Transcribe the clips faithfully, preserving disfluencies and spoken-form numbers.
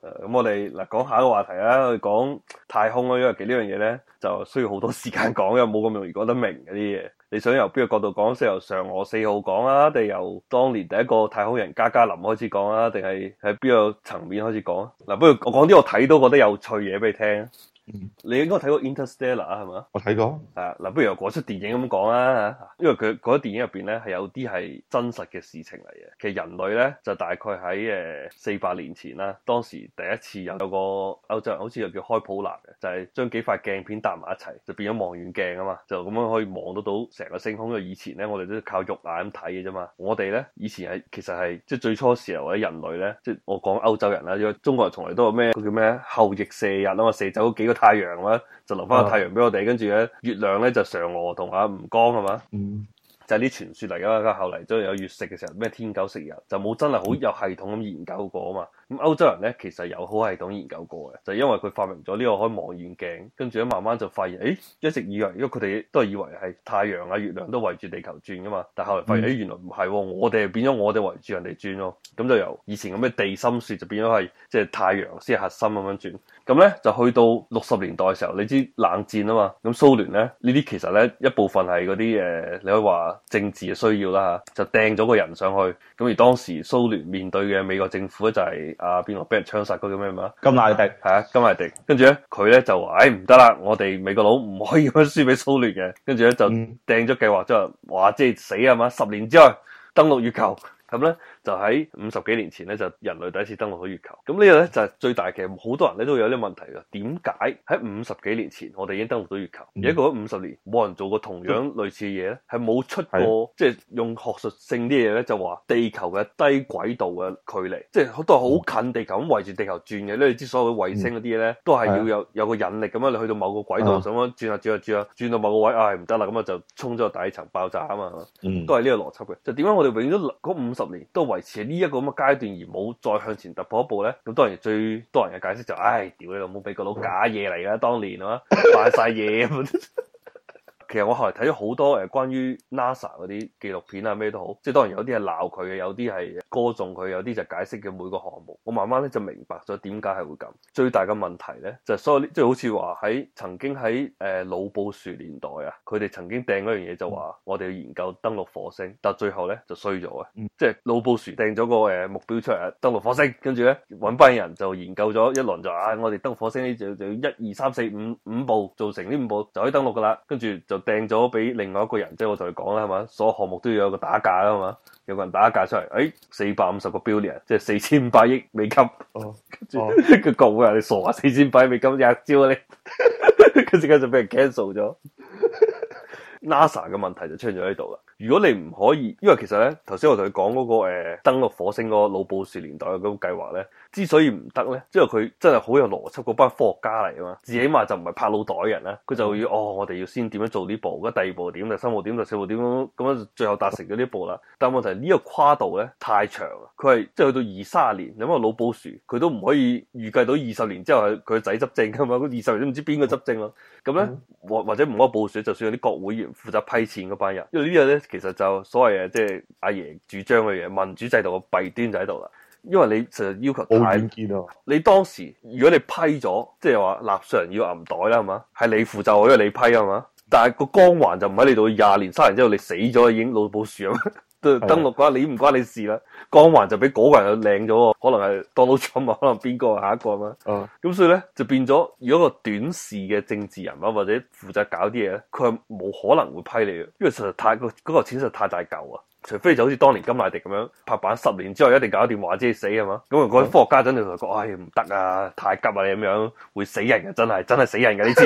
誒，咁我哋嗱講下一個話題啦，我哋講太空啦，因為其實呢樣嘢咧就需要好多時間講，又冇咁容易講得明嗰啲嘢。你想由邊個角度講？先由嫦娥四號講啊，定由當年第一個太空人加加林開始講啊，定係喺邊個層面開始講啊？嗱，不如我講啲我睇到覺得有趣嘢俾你聽。嗯、你應該睇過 Interstellar 啊，係嘛？ 我睇過。 係啊，嗱，不如由嗰出電影咁講啊，因為佢嗰出電影入邊咧係有啲係真實嘅事情嚟嘅。其實人類咧就大概喺誒四百年前啦，當時第一次有有個歐洲人好似又叫開普勒嘅，就係、是、將幾塊鏡片搭埋一齊，就變咗望遠鏡啊嘛，就咁樣可以望得到成個星空。因為以前咧我哋都靠肉眼咁睇嘅啫嘛，我哋咧以前係其實係即係最初時候或者人類咧，即係我講歐洲人啦，因為中國人從來都有咩叫咩後羿射日啊嘛，射走幾個太陽啦，就留翻個太陽俾我哋，跟住咧月亮咧就嫦娥同阿吳剛係嘛。嗯，就係啲傳說嚟噶，後嚟都有月食嘅時候，咩天狗食日，就冇真係好有系統咁研究過啊嘛。咁歐洲人咧其實有好系統研究過嘅，就因為佢發明咗呢個可以望遠鏡，跟住咧慢慢就發現，誒一直以為，因為佢哋都係以為係太陽啊、月亮都圍住地球轉噶嘛，但係後嚟發現，誒、嗯、原來唔係喎，我哋變咗我哋圍住人哋轉咯，咁就由以前咁嘅地心說就變咗係即係太陽先係核心咁樣轉。咁咧就去到六十年代嘅時候，你知冷戰啊嘛，咁蘇聯咧呢啲其實咧一部分係嗰啲誒，你可以話政治嘅需要啦嚇，就掟咗個人上去。咁而當時蘇聯面對嘅美國政府咧就係啊邊個俾人槍殺嗰個咩嘛？ 甘迺迪係啊，甘迺迪。跟住咧佢咧就話：，誒唔得啦，我哋美國佬唔可以咁樣輸俾蘇聯嘅。跟住咧就掟咗計劃，即係話即係死啊嘛，十年之後登陸月球。咁咧就喺五十幾年前咧就人類第一次登陸到月球。咁呢個咧就係、是、最大嘅，好多人咧都有啲問題嘅。點解喺五十幾年前我哋已經登陸到月球，而家過咗五十年冇人做過同樣類似嘅嘢咧？係冇出過，即係用學術性啲嘢咧就話地球嘅低軌道嘅距離，即係都係好近地球咁圍住地球轉嘅。你知所有嘅衛星嗰啲咧都係要有有個引力咁樣，你去到某個軌道咁樣轉下轉下轉下轉到某個位，唉唔得啦，咁啊就衝咗個底層爆炸啊嘛，都係呢個邏輯嘅。就點解我哋永遠都嗰五十年都維持喺呢一個咁嘅階段，而冇再向前突破一步咧？咁當然最多人嘅解釋就係，唉，屌你老母，美國佬假嘢嚟㗎，當年啊，扮晒嘢咁。其實我後來睇咗好多誒關於 NASA 嗰啲紀錄片啊，咩都好，即係當然有啲係鬧佢嘅，有啲係歌頌佢，有啲就解釋嘅每個項目。我慢慢咧就明白咗點解係會咁。最大嘅問題咧就係、是、所有即係好似話喺曾經喺誒老布殊年代啊，佢哋曾經掟嗰樣嘢就話我哋要研究登陸火星，但最後咧就衰咗嘅。嗯、即係老布殊掟咗個誒目標出嚟登陸火星，跟住咧揾班人就研究咗一輪就啊，我哋登陸火星呢就就要一二三四五五步做成呢五步就可以登陸噶啦，跟住就掟咗俾另外一個人，即係我同你講啦，係嘛？所有項目都要有個打價啦，係嘛？有個人打價出嚟，誒，四百五十個 billion，即係四千五百億美金。哦，跟住佢講啊，你傻啊？四千五百億美金一招啊你，跟住跟住俾人 cancel 咗。NASA 嘅問題就出現咗喺度啦。如果你唔可以，因為其實咧，頭先我同佢講嗰個誒、呃、登陸火星嗰個老布殊年代嘅嗰個計劃咧，之所以唔得咧，即係佢真係好有邏輯，嗰班科學家嚟啊嘛，至起碼就唔係拍腦袋人啦，佢就要哦，我哋要先點樣做呢步，咁第二步點，第三步點，第四步點咁樣，最後達成咗呢步啦。但係問題呢、這個跨度咧太長啊，佢係即係去到二三十年，因為老布殊佢都唔可以預計到二十年之後係佢個仔執政噶嘛，二十年都唔知邊個執政咯。咁咧或或者唔好布殊，就算有啲國會議員負責批錢嗰班人，因為呢個咧其實就所謂嘅即係阿爺主張嘅嘢，民主制度嘅弊端就喺度啦。因為你實要求太遠啊！ 你當時如果你批咗，即係話納稅人要銀袋啦，係嘛？係你負責，因為你批啊嘛。但係個光環就唔喺你度，廿年、三年之後你死咗已經老布殊啊嘛。登陸嘅話，你唔關你事啦。光環就俾嗰個人領咗，可能係 Donald Trump 啊，可能邊個下一個啊嘛。咁、嗯、所以咧就變咗，如果個短視嘅政治人物或者負責搞啲嘢咧，佢係冇可能會批你嘅，因為實在太個嗰個錢實在太大嚿啊。除非就好似當年甘迺迪咁樣拍板，十年之後一定搞掂，話知你死係嘛？咁啊，嗰啲科學家真係同佢講：，唉，唔得啊，太急啊！你咁樣會死人嘅，真係真係死人嘅呢次。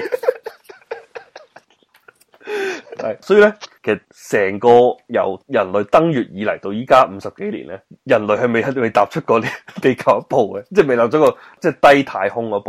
係，所以咧，其實成個由人類登月以嚟到依家五十幾年咧，人類係未喺未踏出過地球一步嘅，即係未踏出個即係低太空嗰步啊。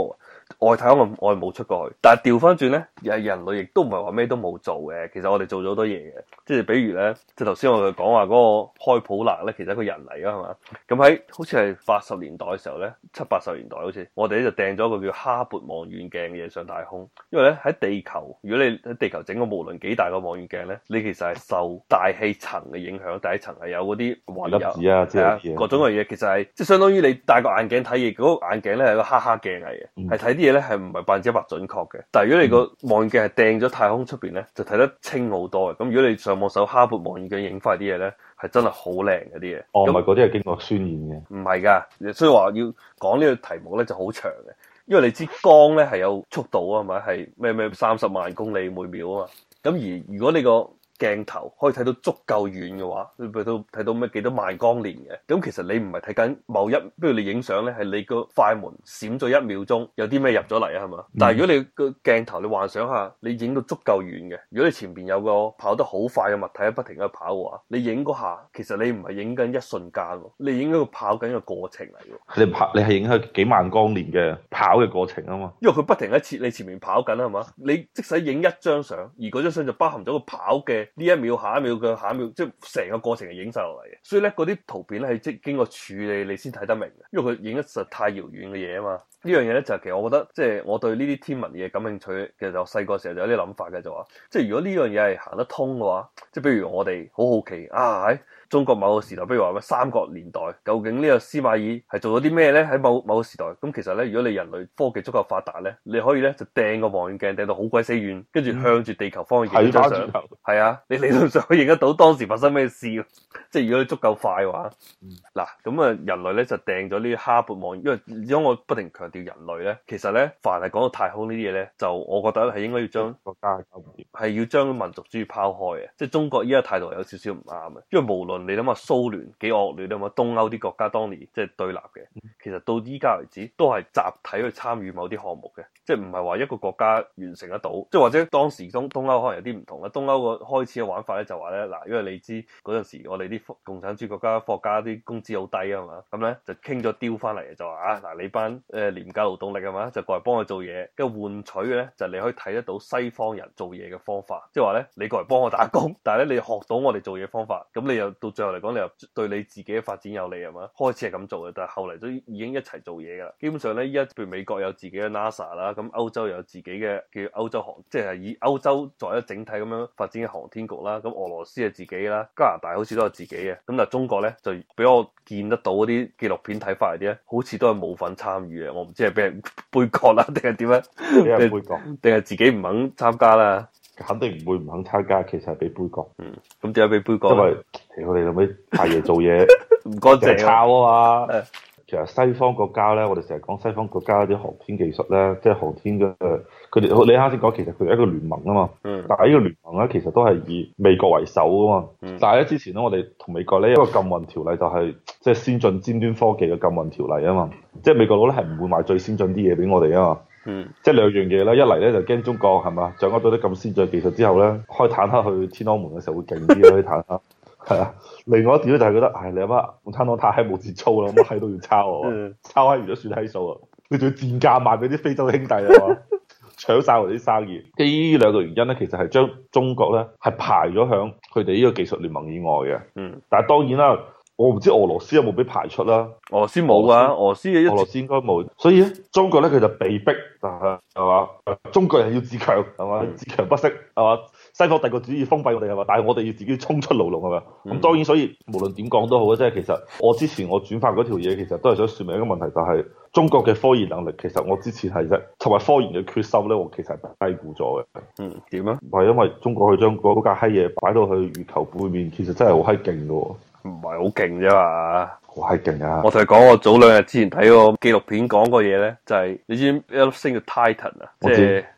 外太空我哋冇出過去，但係調翻轉咧，人人類亦都唔係話咩都冇做嘅。其實我哋做咗好多嘢嘅，即係比如咧，即係頭先我哋講話嗰個開普勒咧，其實係一個人嚟噶係嘛？咁喺好似係八十年代嘅時候咧，七八十年代好似，我哋咧就掟咗一個叫哈勃望遠鏡嘅嘢上太空。因為咧喺地球，如果你喺地球整個無論幾大個望遠鏡咧，你其實係受大氣層嘅影響，第一層係有嗰啲雲粒子啊，即係各種嘅嘢，其實係即係相當於你戴個眼鏡睇嘢，嗰、那個眼鏡咧係個哈哈鏡嚟嘅，係睇啲嘢咧係唔係百分之一百準確嘅。但係如果你個望遠鏡係掟咗太空出邊咧，就睇得清好多嘅。咁如果你上網搜哈勃望遠鏡影翻啲嘢咧，係真係好靚嘅啲嘢。 哦，唔係嗰啲係經過渲染嘅， 唔係噶，所以話要講呢個題目咧就好長嘅。因為你知光咧係有速度啊嘛，係咩咩三十萬公里每秒啊嘛。咁而如果你個鏡頭可以睇到足夠遠嘅話，你睇到睇到咩幾多萬光年嘅，咁其實你唔係睇緊某一，比如你影相咧，係你個快門閃咗一秒鐘，有啲咩入咗嚟啊，係嘛？嗯、但係如果你個鏡頭，你幻想下，你影到足夠遠嘅，如果你前邊有個跑得好快嘅物體喺不停喺度跑嘅話，你影嗰下，其實你唔係影緊一瞬間，你影咗個跑緊嘅過程嚟嘅。 你跑，你係影響幾萬光年嘅跑嘅過程啊嘛。 因為佢不停喺前你前面跑緊係嘛，你即使影一張相，而嗰張相就包含咗個跑嘅呢一秒、下一秒嘅下一秒，即係成個過程係影晒落嚟嘅。所以咧，嗰啲圖片咧係即經過處理你先睇得明嘅，因為佢影得實太遙遠嘅嘢啊嘛。呢樣嘢咧就係其實我覺得，即係我對呢啲天文嘢感興趣，其實我細個時候就有啲諗法嘅，就話即係如果呢樣嘢係行得通嘅話，即係比如我哋好好奇啊喺中國某個時代，比如話咩三國年代，究竟呢個司馬懿係做咗啲咩咧？喺某某個時代，咁其實咧，如果你人類科技足夠發達咧，你可以咧就掟個望遠鏡掟到好鬼死遠，跟住向住地球方向影張相。係啊，你理論上可以影得到當時發生咩事。即係如果你足夠快嘅話，嗱咁啊，人類咧就掟咗呢啲哈勃望遠，因為因為我不停強調人類咧，其實咧凡係講到太空呢啲嘢咧，就我覺得係應該要將國家搞唔掂，係要將民族主義拋開嘅。即係中國依家態度有少少唔啱嘅，因為無論你諗下蘇聯幾惡劣啊嘛，東歐啲國家當年即係對立嘅，其實到依家為止都係集體去參與某啲項目嘅，即係唔係話一個國家完成得到，即係或者當時東東歐可能有啲唔同啦。東歐個開始嘅玩法咧就話咧嗱，因為你知嗰陣時我哋啲共產主義國家科學家啲工資好低啊嘛，咁咧就傾咗雕翻嚟就話啊嗱，你班誒廉價勞動力啊嘛，就過嚟幫我做嘢，跟住換取嘅咧就你可以睇得到西方人做嘢嘅方法，即係話咧你過嚟幫我打工，但係咧你學到我哋做嘢方法，咁你又到最後嚟講你又對你自己嘅發展有利係嘛？開始係咁做嘅，但係後嚟都已經一齊做嘢噶啦。基本上咧，依家譬如美國有自己嘅 NASA 啦，咁歐洲有自己嘅叫歐洲航，即係以歐洲作為一整體咁樣發展嘅航天局啦。咁俄羅斯係自己啦，加拿大好似都有自己嘅。咁但係中國咧就俾我見得到嗰啲紀錄片睇法嚟啲咧，好似都係冇份參與嘅。我唔知係俾人杯葛啦，定係點樣？俾人杯葛，定係自己唔肯參加啦？ 肯定唔會唔肯參加，其實係俾杯葛。 嗯，咁點解俾杯葛？ 因為我哋諗起太爺做嘢唔乾淨， 抄啊嘛。其實西方國家咧，我哋成日講西方國家啲航天技術咧，即係航天嘅，佢哋你啱先講，其實佢哋一個聯盟啊嘛。嗯。但係呢個聯盟咧，其實都係以美國為首啊嘛。嗯。但係咧，之前咧，我哋同美國咧一個禁運條例就係即係先進尖端科技嘅禁運條例啊嘛。即係美國佬咧係唔會賣最先進啲嘢俾我哋啊嘛。嗯。即係兩樣嘢啦，一嚟咧就驚中國係嘛掌握到啲咁先進技術之後咧，開坦克去天安門嘅時候會勁啲咯啲坦克。係啊，另外一點咧就係覺得，唉，你阿媽共產黨太閪冇節操啦，乜閪都要抄我，抄閪完咗算閪數啊！你仲要賤價賣俾啲非洲兄弟啊嘛，搶晒我哋啲生意。基於呢兩個原因咧，其實係將中國咧係排咗響佢哋呢個技術聯盟以外嘅。嗯，但係當然啦，我唔知俄羅斯有冇俾排出啦。 俄羅斯冇啊，俄羅斯嘅俄羅斯應該冇。所以咧，中國咧佢就被逼係係嘛，中國人要自強係嘛，自強不息係嘛。西方帝國主義封閉我哋係嘛，但係我哋要自己衝出牢籠係嘛。咁、嗯、當然，所以無論點講都好啊，即係其實我之前我轉發嗰條嘢，其實都係想説明一個問題，就係、是、中國嘅科研能力其實我之前係啫，同埋科研嘅決心咧，我其實係低估咗嘅。 嗯，點啊？ 係因為中國去將嗰架閪嘢擺到去月球背面，其實真係好閪勁嘅喎。 唔係好勁啫嘛。 好閪勁啊！ 我同你講，我早兩日之前睇個紀錄片講個嘢咧，就係、是、你知一粒星叫 Titan 啊，即係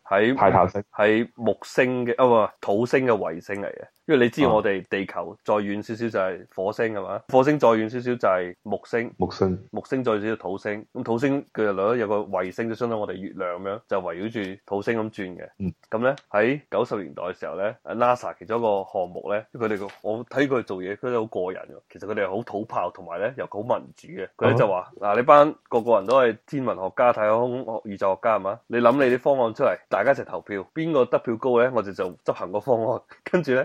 喺泰坦星係木星嘅啊，唔係土星嘅衛星嚟嘅。因為你知我哋地球再遠少少就係火星係嘛，火星再遠少少就係木星， 木星木星再少少土星。咁土星佢又兩有個衛星，就相當於我哋月亮咁樣，就圍繞住土星咁轉嘅。咁咧喺九十年代嘅時候咧，NASA 其中一個項目咧，佢哋個我睇佢做嘢，佢哋好過癮嘅。其實佢哋係好土炮，同埋咧又好民主嘅。佢咧就話嗱，你班個個人都係天文學家、太空宇宙學家係嘛？你諗你啲方案出嚟，大家一齊投票，邊個得票高咧，我哋就執行個方案。跟住咧。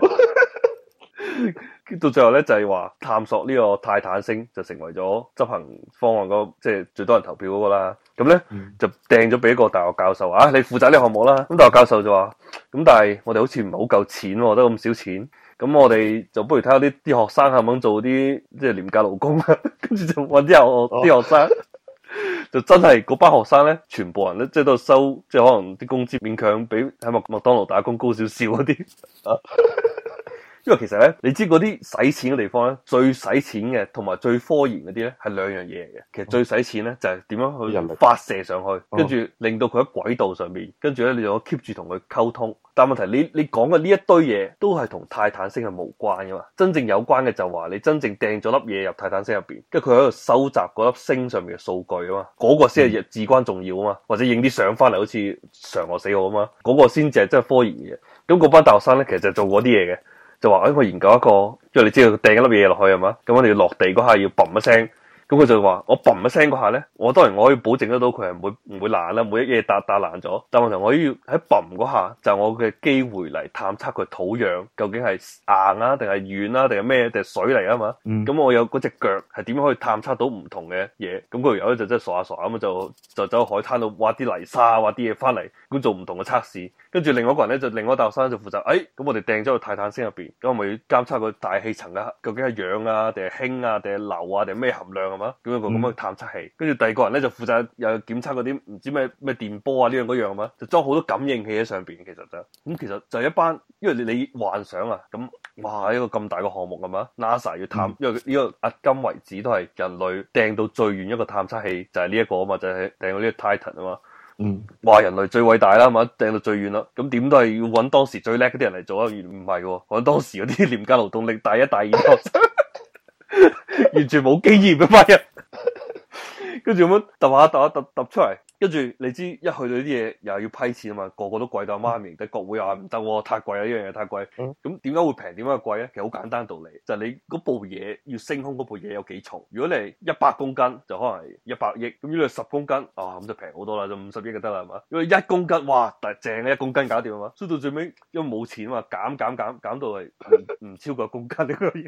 到最後咧就係、是、話探索呢個泰坦星就成為咗執行方案嗰即係最多人投票嗰個啦。咁咧、嗯、就掟咗俾一個大學教授啊，你負責呢個項目啦。咁大學教授就話咁，但係我哋好似唔係好夠錢，得咁少錢。咁我哋就不如睇下啲啲學生肯唔肯做啲即係廉價勞工啊。跟住就揾啲學啲學生，就真係嗰班學生咧，全部人咧即係都收，即係可能啲工資勉強比喺麥麥當勞打工高少少嗰啲。因為其實咧，你知嗰啲使錢嘅地方咧，最使錢嘅同埋最科研嗰啲咧，係兩樣嘢嚟嘅。其實最使錢咧就係點樣去發射上去，跟住令到佢喺軌道上面，跟住咧你就 keep 住同佢溝通。但問題你你講嘅呢一堆嘢都係同泰坦星係無關噶嘛？真正有關嘅就話你真正掟咗粒嘢入泰坦星入邊，跟住佢喺度收集嗰粒星上面嘅數據啊嘛，嗰、嗰個先係至關重要啊嘛。或者影啲相翻嚟，好似嫦娥四號啊嘛，嗰、嗰個先至係真係科研嘅嘢。咁嗰班大學生咧，其實就做嗰啲嘢嘅。就話誒，我研究一個，因為你知道掟一粒嘢落去係嘛，咁我哋要落地嗰下要嘣一聲，咁佢就話我嘣一聲嗰下咧，我當然我可以保證得到佢係唔會唔會爛啦，每一嘢打打爛咗，但問題我要喺嘣嗰下就係我嘅機會嚟探測佢土壤究竟係硬啊定係軟啊定係咩定係水嚟啊嘛，咁、嗯、我有嗰隻腳係點樣可以探測到唔同嘅嘢，咁佢有咧就真係傻下傻下咁就就走去海灘度挖啲泥沙挖啲嘢翻嚟，咁做唔同嘅測試。跟住另外一個人咧，就另外一個大學生就負責，誒、哎，咁我哋掟咗去泰坦星入邊，咁我咪要監測個大氣層嘅究竟係氧啊，定係氫啊，定係硫啊，定係咩含量係嘛？咁一個咁嘅探測器。跟住第二個人咧就負責又檢測嗰啲唔知咩咩電波啊呢樣嗰樣係嘛？就裝好多感應器喺上邊，其實就咁其實就係一班，因為你你幻想啊，咁哇一個咁大個項目係嘛 ？NASA 要探，嗯、因為呢個迄今為止都係人類掟到最遠一個探測器就係呢一個啊嘛，就係掟到呢個 Titan 啊嘛。嗯，話人類最偉大啦，係嘛，掟到最遠啦，咁點都係要揾當時最叻嗰啲人嚟做啊，而唔係嘅，揾當時嗰啲廉價勞動力大一大二學生，完全冇經驗嘅班人，跟住咁樣揼下揼下揼揼出嚟。跟住你知一去到呢啲嘢又要批錢啊嘛，個個都貴到媽咪，但係國會又話唔得，太貴啦，呢樣嘢太貴。咁點解會平？點解貴咧？其實好簡單道理，就係、是、你嗰部嘢要升空嗰部嘢有幾重。如果你係一百公斤，就可能係一百億。咁如果你係十公斤，啊咁就平好多啦，就五十億就得啦，係嘛？如果一公斤，哇，但係正嘅一公斤搞掂啊嘛。所以到最尾因為冇錢啊嘛，減減減減到係唔唔超過一公斤呢個嘢。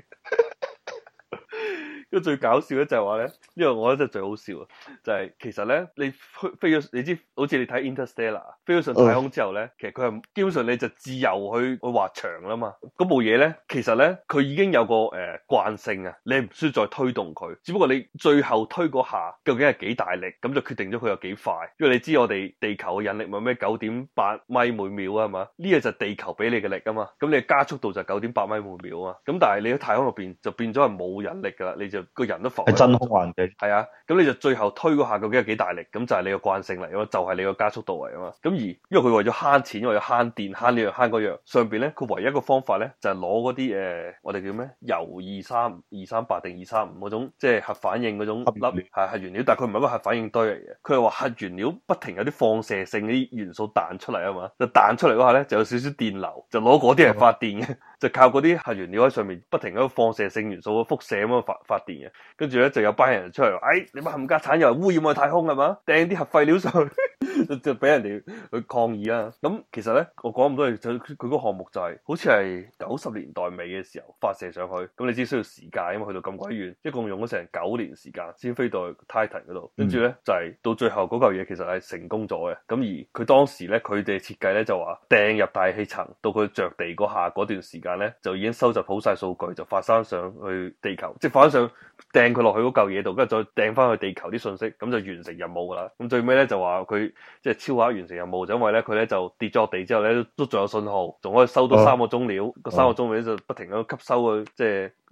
咁最搞笑咧就係話咧，呢個我覺得真係最好笑啊！就係、是、其實咧，你飛咗，你知好似你睇 Interstellar 飛咗上太空之後咧，其實佢係基本上你就自由去去滑翔啦嘛。嗰部嘢咧，其實咧佢已經有個誒、呃、慣性啊，你唔需要再推動佢，只不過你最後推嗰下究竟係幾大力，咁就決定咗佢有幾快。因為你知我哋地球嘅引力咪咩九點八米每秒啊嘛，呢個就係地球俾你嘅力啊嘛，咁你嘅加速度就係九點八米每秒啊嘛。咁但係你喺太空入邊就變咗係冇引力噶啦，你就個人都浮喺真空環境， 係啊，咁你就最後推嗰下究竟係幾大力，咁就係你個慣性嚟啊嘛，就係、是、你個加速度嚟啊嘛。咁而因為佢為咗慳錢，為咗慳電，慳呢樣慳嗰樣，上邊咧佢唯一一個方法咧就係攞嗰啲誒，我哋叫咩？鈾二三二三八定二三五嗰種，即係核反應嗰種粒係核原料，但係佢唔係一個核反應堆嚟嘅，佢係話核原料不停有啲放射性啲元素彈出嚟啊嘛，就彈出嚟嗰下咧就有少少電流，就攞嗰啲嚟發電嘅，就靠嗰啲核原料喺上面不停喺度放射性元素輻射咁樣發發電嘅。跟住咧就有班人出嚟話，哎，你班冚家鏟又污染我太空係嘛？掟啲核廢料上去，就就俾人哋去抗議啦。咁其實咧，我講咁多嘢，佢佢個項目就係、是、好似係九十年代尾嘅時候發射上去。咁你知需要時間，因為去到咁鬼遠，一共用咗成九年時間先飛到去 Titan 嗰度。跟住咧就係、是、到最後嗰嚿嘢其實係成功咗嘅。咁而佢當時咧，佢哋設計咧就話掟入大氣層到佢着地嗰下嗰段時間咧，就已經收集好晒數據，就發生上去地球，即係發生上掟佢落去嗰嚿嘢度，跟住再掟翻去地球啲信息，咁就完成任務噶啦。咁最尾咧就話佢即係超額完成任務，就因為咧佢咧就跌咗落地之後咧都仲有信號，仲可以收到三個鐘料。個、啊、三個鐘料就不停咁吸收佢即係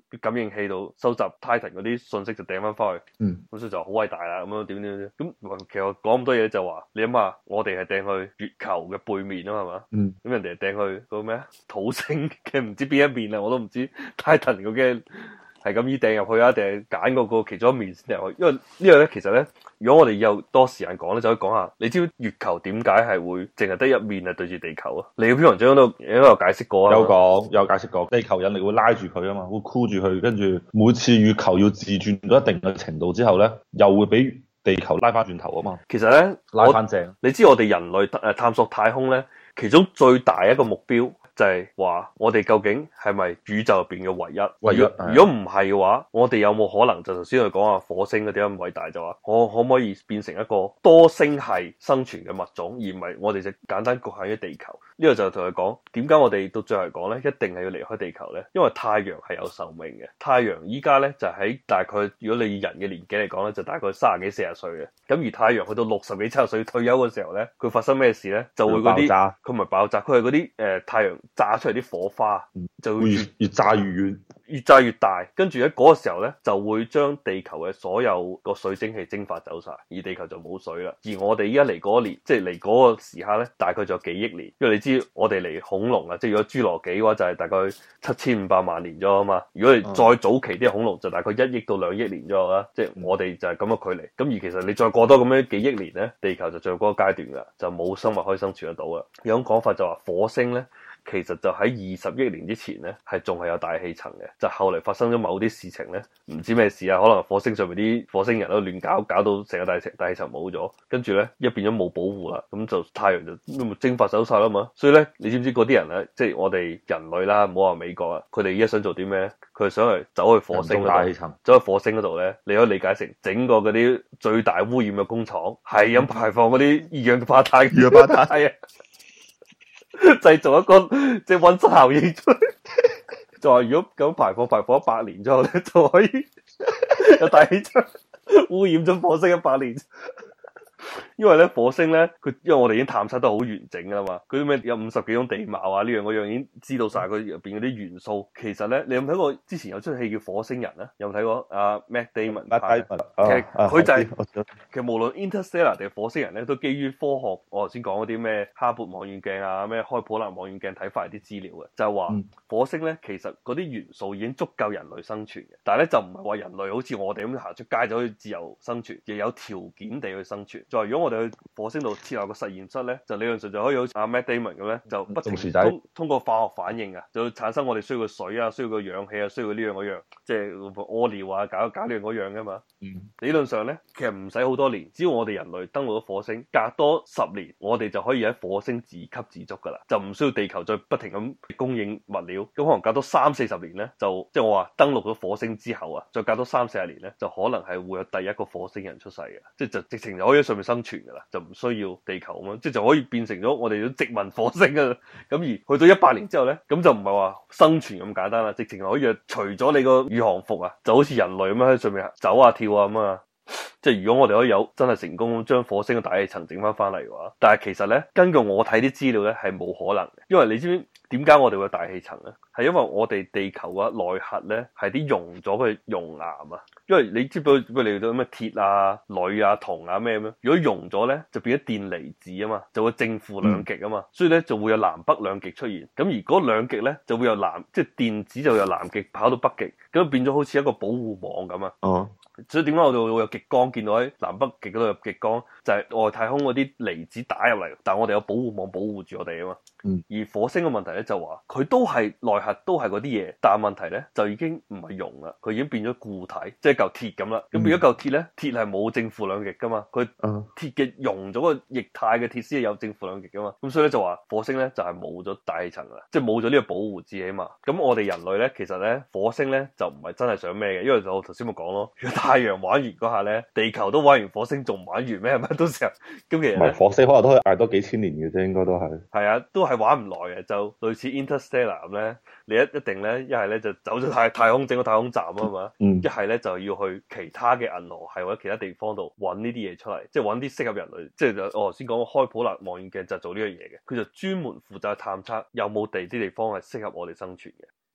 啲感應器度收集 Titan 嗰啲信息就掟翻翻去。 嗯， 咁所以就好偉大啦，咁樣點點點。咁其實我講咁多嘢就話，你諗下，我哋係掟去月球嘅背面啊，係嘛？ 嗯， 咁人哋係掟去嗰個咩啊？土星嘅唔知邊一面啊，我都唔知 Titan 嗰嘅。係咁依掟入去啊，定係揀嗰個其中一面先入去？因為呢個咧，其實咧，如果我哋有多時間講咧，就可以講下。你知唔知月球點解係會淨係得一面係對住地球啊？你嘅篇文章都應該有解釋過啊。 有講有解釋過，地球引力會拉住佢啊嘛，會箍住佢，跟住每次月球要自轉到一定嘅程度之後咧，又會俾地球拉翻轉頭啊嘛。 其實咧， 拉翻正。你知我哋人類誒探索太空咧，其中最大一個目標，就係話我哋究竟係咪宇宙入邊嘅唯一？ 唯一。 如果唔係嘅話，我哋有冇可能就頭先佢講話火星嗰啲咁偉大就話，我可唔可以變成一個多星系生存嘅物種，而唔係我哋就簡單局限於地球？呢、這個就同佢講點解我哋到最後嚟講咧，一定係要離開地球咧？因為太陽係有壽命嘅，太陽依家咧就喺大概，如果你以人嘅年紀嚟講咧，就大概三十幾四十歲嘅。咁而太陽去到六十幾七十歲退休嘅時候咧，佢發生咩事咧？就會嗰啲佢唔係爆炸，佢係嗰啲誒太陽炸出嚟啲火花， 嗯、 就會越越炸越遠， 越炸越大。跟住喺嗰個時候咧，就會將地球嘅所有個水蒸氣蒸發走晒，而地球就冇水啦。而我哋依家嚟嗰年，即係嚟嗰個時刻咧，大概仲有幾億年。因為你知我哋嚟恐龍啊，即係如果侏羅紀嘅話，就係大概七千五百萬年咗啊嘛。如果你再早期啲恐龍，就大概一億到兩億年咗啦。即係我哋就係咁嘅距離。咁而其實你再過多咁樣幾億年咧，地球就進入嗰個階段噶，就冇生物可以生存得到啦。有種講法就話火星咧，其實就喺二十億年之前咧，係仲係有大氣層嘅。就後嚟發生咗某啲事情咧，唔知咩事啊，可能火星上面啲火星人都亂搞，搞到成個大氣大氣層冇咗，跟住咧一變咗冇保護啦，咁就太陽就蒸發走晒啦嘛。所以咧，你知唔知嗰啲人咧，即係我哋人類啦，唔好話美國啊，佢哋而家想做啲咩？佢係想嚟走去火星嗰度，走去火星嗰度咧，你可以理解成整個嗰啲最大污染嘅工廠，係咁排放嗰啲二氧化碳，二氧化碳係啊。製造一個即係溫室效應出嚟，就話如果咁排放排放一百年之後咧，就可以有大氣層污染咗火星一百年。因為咧火星咧，佢因為我哋已經探測得好完整噶啦嘛，佢啲咩有五十幾種地貌啊，呢樣嗰樣已經知道晒佢入邊嗰啲元素。其實咧，你有冇睇過之前有出戲叫《火星人》啊？有冇睇過？阿 Matt Damon 拍嘅，其實佢就係其實無論 Interstellar 定係火星人咧，都基於科學。我頭先講嗰啲咩哈勃望遠鏡啊，咩開普勒望遠鏡睇翻嚟啲資料嘅，就係話、嗯、火星咧，其實嗰啲元素已經足夠人類生存嘅，但係咧就唔係話人類好似我哋咁行出街就可以自由生存，亦有條件地去生存。再如果我哋去火星度設立個實驗室咧，就理論上就可以好似阿 Matt Damon 咁咧，就不停通通過化學反應啊，就產生我哋需要嘅水啊，需要嘅氧氣啊，需要嘅呢樣嗰樣，即係屙尿啊，搞搞呢樣嗰樣噶嘛。嗯、理論上咧，其實唔使好多年，只要我哋人類登陸咗火星，隔多十年，我哋就可以喺火星自給自足噶啦，就唔需要地球再不停咁供應物料。咁可能隔多三四十年咧，就即係我話登陸咗火星之後啊，再隔多三四十年咧，就可能係會有第一個火星人出世嘅，即係就直情就可以喺上面生存噶啦，就唔需要地球咁樣，即係就可以變成咗我哋殖民火星啊。咁而去到一百年之後咧，咁就唔係話生存咁簡單啦，直情可以除咗你個宇航服啊，就好似人類咁樣喺上面走啊跳啊咁啊。即係如果我哋可以有真係成功將火星嘅大氣層整翻翻嚟嘅話，但係其實咧，根據我睇啲資料咧，係冇可能嘅，因為你知唔知點解我哋會有大氣層咧？係因為我哋地球嘅內核咧係啲溶咗嘅熔岩啊，因為你知唔知佢嚟到咩鐵啊、鋁啊、銅啊咩咁樣？如果溶咗咧，就變咗電離子啊嘛，就會正負兩極啊嘛，嗯、所以咧就會有南北兩極出現。咁而嗰兩極咧就會有南，即係電子就由南極跑到北極，咁變咗好似一個保護網咁啊。哦。所以點解我哋會有極光，見到喺南北極嗰度有極光，就係、是、外太空嗰啲離子打入嚟，但係我哋有保護網保護住我哋啊嘛。嗯。而火星嘅問題咧就話，佢都係內核都係嗰啲嘢，但係問題咧就已經唔係熔啦，佢已經變咗固體，即係嚿鐵咁啦。咁變咗嚿鐵咧，鐵係冇正負兩極噶嘛，佢鐵嘅溶咗個液態嘅鐵先係有正負兩極噶嘛。咁所以咧就話火星咧就係冇咗大氣層啦，即係冇咗呢個保護字起碼。咁我哋人類咧其實咧火星咧就唔係真係想咩嘅，因為我頭先咪講咯。太陽玩完嗰下咧，地球都玩完，火星仲唔玩完咩？係咪到時候？咁其實咧， 火星可能都可以捱多幾千年嘅啫，應該都係。 係啊，都係玩唔耐嘅，就類似 Interstellar 咁咧。你一一定咧，一係咧就走咗太太空整個太空站啊嘛，一係咧就要去其他嘅銀河系或者其他地方度揾呢啲嘢出嚟，即係揾啲適合人類。即係我頭先講開普勒望遠鏡就做呢樣嘢嘅，佢就專門負責探測有冇地啲地方係適合我哋生存嘅。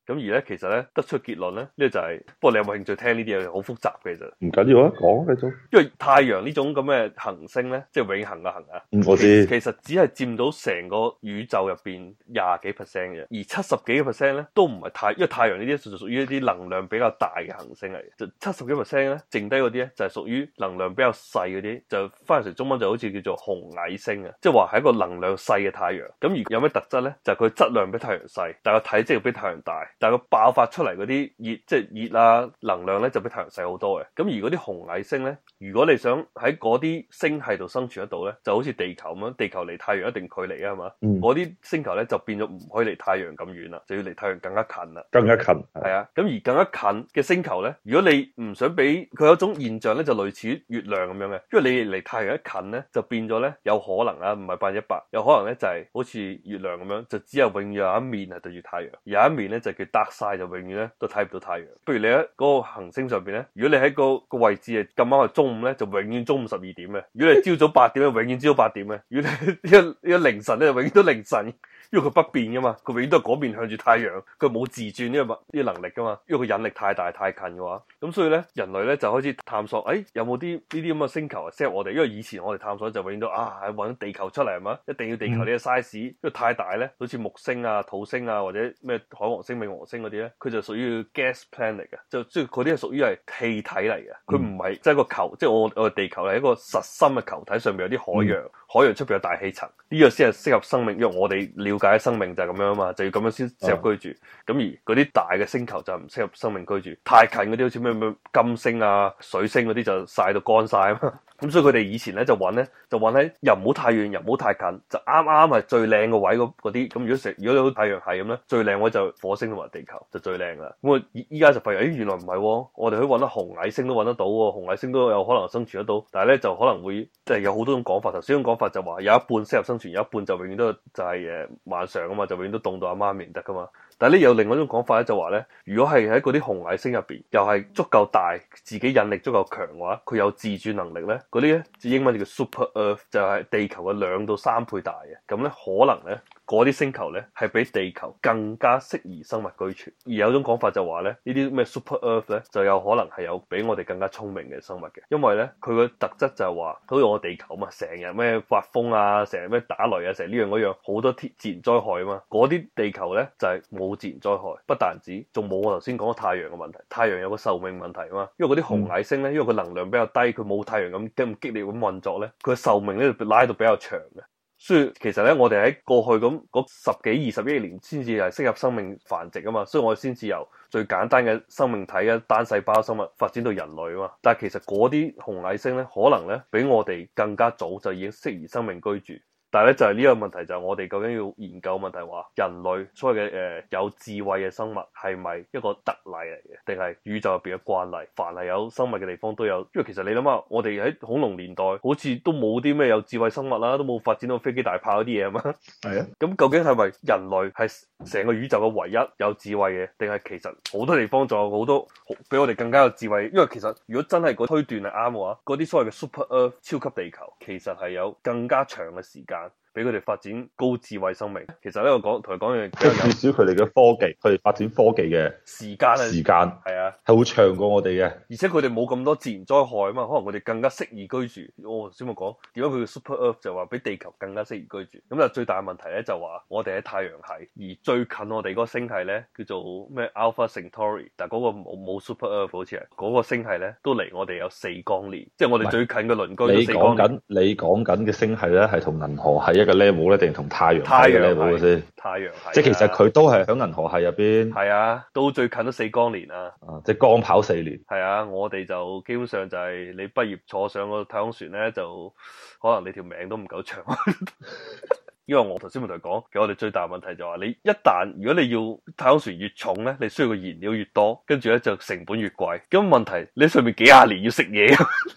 咁而咧其實咧得出結論咧，呢、這個、就係、是，不過你有冇興趣聽呢啲嘢？好複雜嘅其實。 唔緊要啊，講繼續。 因為太陽呢種咁嘅行星咧，即係永恆嘅恆啊。 嗯，我知。 其實只係佔到成個宇宙入邊廿幾 percent 嘅，而七十幾個 percent 咧都唔係太，因為太陽呢啲就屬於一啲能量比較大嘅行星嚟嘅，就七十幾 percent 咧，剩低嗰啲咧就係屬於能量比較細嗰啲，就翻譯成中文就好似叫做紅矮星啊，即係話係一個能量細嘅太陽。咁而有咩特質咧？就係佢質量比太陽細，但係個體積又比太陽大，但係佢爆發出嚟嗰啲熱，即係熱啊能量咧就比太陽細好多嘅。咁而嗰啲紅矮星咧，如果你想喺嗰啲星系度生存得到咧，就好似地球咁樣，地球離太陽一定距離啊，係嘛？嗰啲、嗯、星球咧就變咗唔可以離太陽咁遠啦，就要離太陽更加近啦。 更加近係啊，咁而更加近嘅星球咧，如果你唔想俾佢有一種現象咧，就類似於月亮咁樣嘅，因為你離太陽一近咧，就變咗咧有可能啊，唔係百分之一百，有可能咧就係、是、好似月亮咁樣，就只有永遠有一面係對住太陽，有一面咧就叫 dark side，就永遠咧都睇唔到太陽。不如你喺嗰個行星上邊咧，如果你喺個個位置係咁啱係中午咧，就永遠中午十二點嘅；如果你朝早八點咧，永遠朝早八點嘅；如果你一一凌晨咧，就永遠都凌晨。因為佢不變噶嘛，佢永遠都係嗰邊向住太陽，佢冇自轉呢個呢個能力噶嘛。因為佢引力太大太近嘅話，咁所以咧人類咧就開始探索，誒、哎、有冇啲呢啲咁嘅星球適合我哋？因為以前我哋探索就永遠都啊揾地球出嚟係嘛，一定要地球呢個 size，因為太大咧，好似木星啊、土星啊或者咩海王星、冥王星嗰啲咧，佢就屬於 gas planet 嘅，就即係嗰啲係屬於係氣體嚟嘅，佢唔係即係個球，即係我我哋地球係一個實心嘅球體，上面有啲海洋，嗯、海洋出邊有大氣層，呢、這個先係適合生命，因為我哋了解生命就係咁樣啊嘛，就要咁樣先適合居住。咁、嗯、而嗰啲大嘅星球就唔適合生命居住，太近嗰啲好似咩咩金星啊、水星嗰啲就曬到乾晒啊嘛。咁所以佢哋以前咧就揾咧就揾喺又唔好太遠又唔好太近，就啱啱係最靚個位嗰啲。咁如果成如果你好太陽系咁咧，最靚位就火星同埋地球就最靚啦。咁我依家就發現，誒原來唔係喎，我哋可以揾到紅矮星都揾得到喎，紅矮星都有可能生存得到。但係咧就可能會即係有好多種講法。頭先種講法就話有一半適合生存，有一半就永遠都就係誒晚上啊嘛，就永遠都凍到阿媽咪唔得噶嘛。但係咧有另外一種講法咧，就話咧，如果係喺嗰啲紅矮星入邊，又係足夠大，自己引力足夠強嘅話，佢有自轉能力咧，嗰啲咧英文就叫 Super Earth，就係地球嘅兩到三倍大嘅，咁咧可能咧嗰啲星球咧係比地球更加適宜生物居住。而有種講法就話咧，呢啲咩 Super Earth 咧就有可能係有比我哋更加聰明嘅生物嘅，因為咧佢個特質就係話，好似我地球嘛，成日咩刮風啊，成日咩打雷啊，成日呢樣嗰樣，好多天自然災害啊嘛，嗰啲地球咧就係冇自然災害，不但止，仲冇我頭先講嘅太陽嘅問題。太陽有個壽命問題啊嘛，因為嗰啲紅矮星咧，因為佢能量比較低，佢冇太陽咁咁激烈咁運作咧，佢嘅壽命咧拉到比較長嘅。所以其實咧，我哋喺過去咁嗰十幾二十億年先至係適合生命繁殖啊嘛，所以我哋先至由最簡單嘅生命體嘅單細胞生物發展到人類啊嘛。但係其實嗰啲紅矮星咧，可能咧比我哋更加早就已經適宜生命居住。但係咧就係呢個問題，就係我哋究竟要研究問題，話人類所謂嘅誒、呃、有智慧嘅生物係咪一個特例嚟嘅，定係宇宙入邊嘅慣例？凡係有生物嘅地方都有，因為其實你諗下，我哋喺恐龍年代好似都冇啲咩有智慧生物啦，都冇發展到飛機大炮嗰啲嘢啊嘛。係啊，咁究竟係咪人類係成個宇宙嘅唯一有智慧嘅，定係其實好多地方仲有好多比我哋更加有智慧？因為其實如果真係個推斷係啱嘅話，嗰啲所謂嘅 Super Earth 超級地球，其實係有更加長嘅時間俾佢哋發展高智慧生命。其實咧，我講同佢講嘅， 即係至少佢哋嘅科技，佢哋發展科技嘅時間時間係啊， 係會長過我哋嘅。 而且佢哋冇咁多自然災害啊嘛，可能佢哋更加適宜居住。我頭先咪講點解佢叫 Super Earth 就話比地球更加適宜居住。咁但係最大嘅問題咧就話我哋喺太陽系，而最近我哋嗰個星系咧叫做咩 Alpha Centauri， 但係嗰個冇冇 Super Earth 好似係嗰個星系咧都離我哋有四光年，即係我哋最近嘅鄰居都四光年。你講緊你講緊嘅星系咧係同銀河系一個 level 咧，定同太陽系嘅 level 先？太陽系，即係其實佢都係喺銀河系入邊。係啊，都最近都四光年啊！啊，即係光跑四年。係啊，我哋就基本上就係你畢業坐上個太空船咧，就可能你條命都唔夠長。因為我頭先咪同你講，其實我哋最大問題就係話，你一旦如果你要太空船越重咧，你需要嘅燃料越多，跟住咧就成本越貴。咁問題你上面幾廿年要食嘢，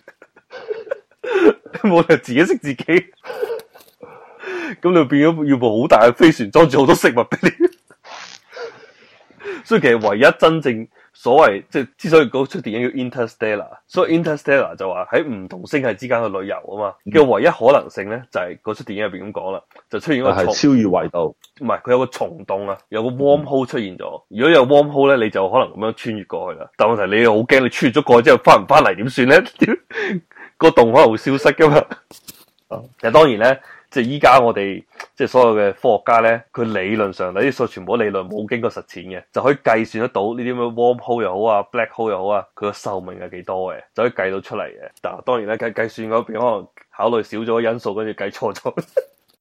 冇理由自己食自己。咁你變咗要部好大嘅飛船裝住好多食物俾你，所以其實唯一真正所謂即係之所以嗰出電影叫 Interstellar，所以 Interstellar 就話喺唔同星系之間嘅旅遊啊嘛，嘅、嗯、唯一可能性咧就係嗰出電影入邊咁講啦，就出現一個係超越維度， 唔係佢有個蟲洞啊，有個 worm hole 出現咗。如果有 worm hole 咧，你就可能咁樣穿越過去啦。但問題你又好驚，你穿越咗過去之後翻唔翻嚟點算咧？個洞可能會消失噶嘛。其實當然咧，即係依家我哋即係所有嘅科學家咧，佢理論上呢啲數全部理論冇經過實踐嘅，就可以計算得到呢啲咁嘅 worm hole 又好啊 black hole 又好啊，佢個壽命係幾多嘅，就可以計到出嚟嘅。但係當然咧計計算嗰邊可能考慮少咗因素，跟住計錯咗。